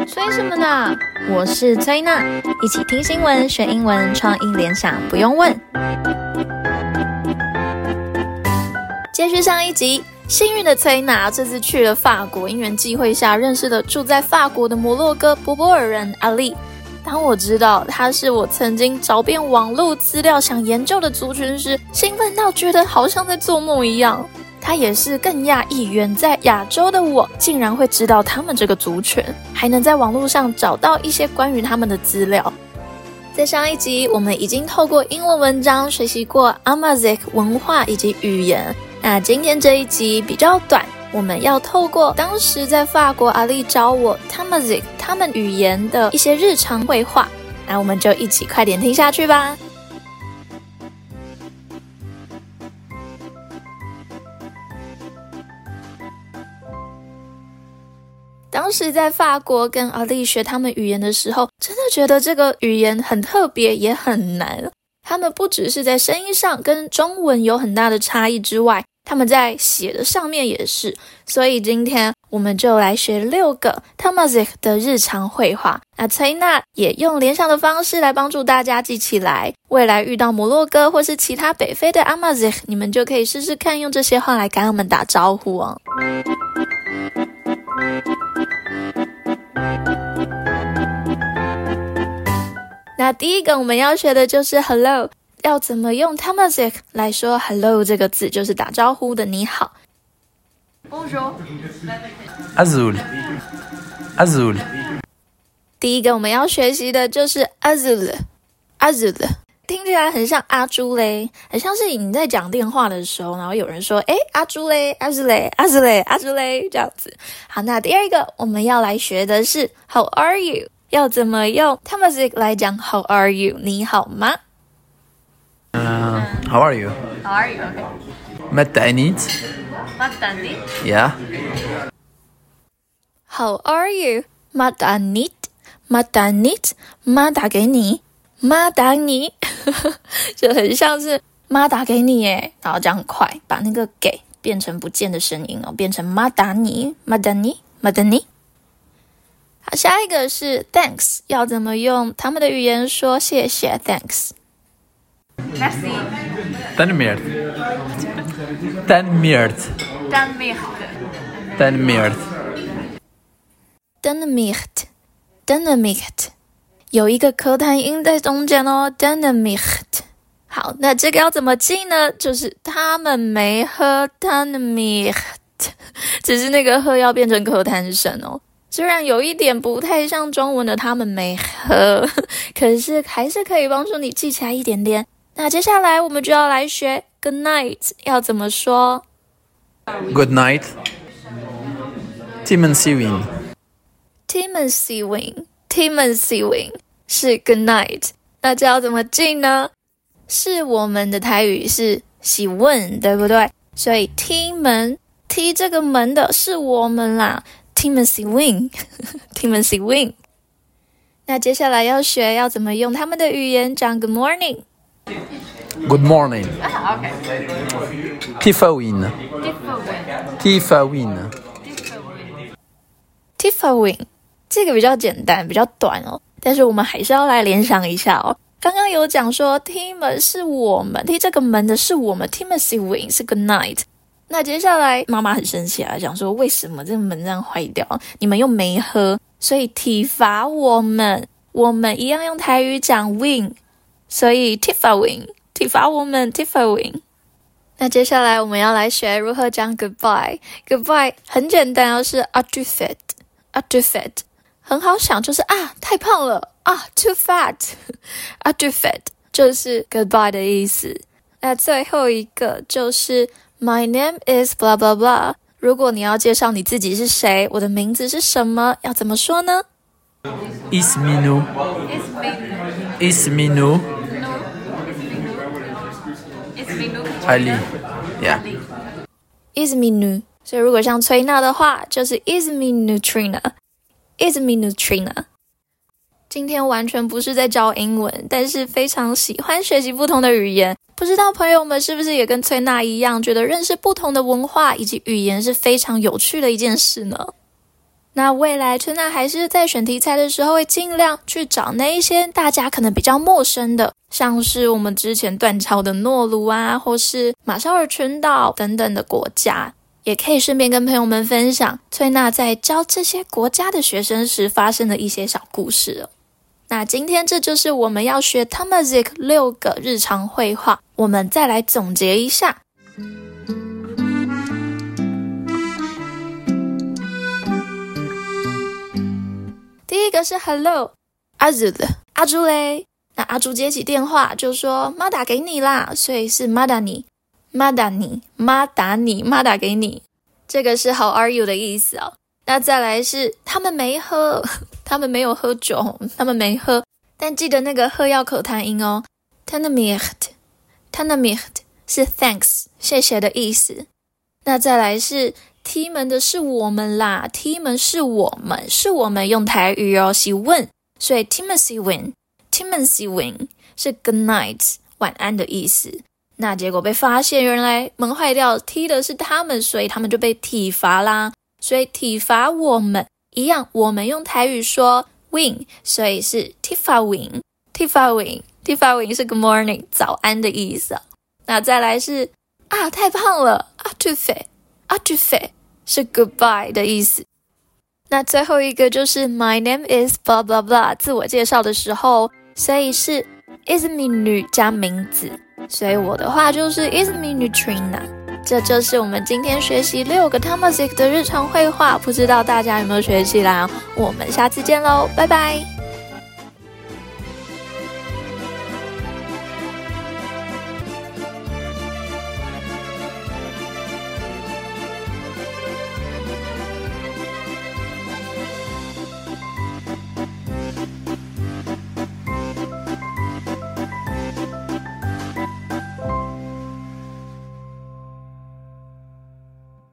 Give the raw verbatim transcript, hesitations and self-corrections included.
催什麼呢？我是崔娜，一起聽新聞學英文，創意聯想不用問。接續上一集，幸運的崔娜這次去了法國，因緣際會下認識了住在法國的摩洛哥柏柏爾人阿麗。當我知道他是我曾經找遍網絡資料想研究的族群時，興奮到覺得好像在做夢一樣。他也是更訝異，遠在亞洲的我竟然會知道他們這個族群，還能在網絡上找到一些關於他們的資料。在上一集，我們已經透過英文文章學習過 Amazigh 文化以及語言。那今天這一集比較短，我們要透過當時在法國阿麗教我 Tamazight 他們語言的一些日常會話。那我們就一起快點聽下去吧。當時在法國跟阿麗學他們語言的時候，真的覺得這個語言很特別，也很難。他們不只是在聲音上跟中文有很大的差異之外，他們在寫的上面也是。所以今天我們就來學六個 Tamazight 的日常會話。那崔娜也用聯想的方式來幫助大家記起來。未來遇到摩洛哥或是其他北非的 Amazigh， 你們就可以試試看用這些話來跟他們打招呼哦。那第一個我們要學的就是 hello， 要怎麼用 Tamazight 來說 hello 這個字，就是打招呼的你好。Bonjour Azul Azul 第一個我們要學習的就是 Azul Azul 聽起來很像阿朱嘞，很像是你在講電話的時候，然後有人說誒阿朱嘞阿朱嘞阿朱嘞阿朱嘞這樣子。好，那第二個我們要來學的是 How are you，要怎麼用 Tamazight 來講 How are you 你好嗎？ uh, How are you How are you okay. ما تعنيت ما تعنيت Yeah How are you ما تعنيت ما تعنيت媽打給你媽打你就很像是媽打給你耶，然後這樣很快把那個給變成不見的聲音哦，變成媽打你媽打你媽打你。好，下一個是 thanks， 要怎麼用他們的語言說謝謝 thanks？ Merci تنميرت تنميرت تنميرت تنميرت تنميرت 有一個咳痰音在中間哦 تنميرت。 好，那這個要怎麼記呢？就是他們沒喝 تنميرت， 只是那個喝要變成咳痰聲哦。雖然有一點不太像中文的他們沒喝，可是還是可以幫助你記起來一點點。那接下來我們就要來學 Good night 要怎麼說。 Good night Timen Siwin Timen Siwin Timen Siwin 是 Good night， 那這要怎麼記呢？是我們的台語是喜問，對不對？所以踢門踢這個門的是我們啦，Timen Siwin Timen Siwin。 那接下來要學要怎麼用他們的語言講 Good morning。 Good morning Ah, okay. Tifawin Tifawin Tifawin 這個比較簡單，比較短哦，但是我們還是要來聯想一下哦。剛剛有講說踢門是我們，踢這個門的是我們 Timen Siwin 是 Good night。那接下來媽媽很生氣啊，講說為什麼這個門這樣壞掉，你們又沒喝，所以體罰我們，我們一樣用台語講 win， 所以 Tifawin 體罰我們 Tifawin。 那接下來我們要來學如何講 goodbye。 goodbye 很簡單哦，是 à tu fais à tu fais， 很好想，就是啊太胖了啊 too fat à tu fais 就是 goodbye 的意思。那最後一個就是 My name is blah blah blah。 如果你要介紹你自己是誰，我的名字是什麼，要怎麼說呢？ Isminu Isminu Ali Yeah Isminu。 所以如果像崔娜的話就是 Isminu Trina Isminu Trina。 今天完全不是在教英文，但是非常喜歡學習不同的語言。不知道朋友們是不是也跟崔娜一樣，覺得認識不同的文化以及語言是非常有趣的一件事呢？ 那未來春娜還是在選題材的時候，會盡量去找那一些大家可能比較陌生的，像是我們之前斷抄的諾魯啊，或是馬紹爾群島等等的國家，也可以順便跟朋友們分享翠娜在教這些國家的學生時發生的一些小故事哦。那今天這就是我們要學 Tamazight 六個日常會話，我們再來總結一下。第一個是 Hello， 阿朱的阿朱嘞，那阿朱接起電話就說媽打給你啦，所以是媽打你，媽打你，媽打你，媽打給你，這個是 How are you 的意思哦。那再來是他們沒喝，他們沒有喝酒，他們沒喝，但記得那個喝要口彈音哦。Tanamirt， Tanamirt 是 thanks 謝謝的意思。那再來是。T 們的是我們啦 ，T 們是我們，是我們用台語哦，是問，所以 Timothy win，Timothy win 是 good night 晚安的意思。那結果被發現，原來門壞掉 ，T 的是他們，所以他們就被體罰啦。所以體罰我們一樣，我們用台語說 win， 所以是 Tifa win，Tifa win，Tifa win 是 good morning 早安的意思。那再來是啊，太胖了，啊，too fat。啊，tu fais 是 goodbye 的意思。那最後一個就是 My name is blah blah blah 自我介紹的時候，所以是 isminu 加名字，所以我的話就是 isminu Trina。這就是我們今天學習六個 Tamazight 的日常會話，不知道大家有沒有學起來？我們下次見嘍，拜拜。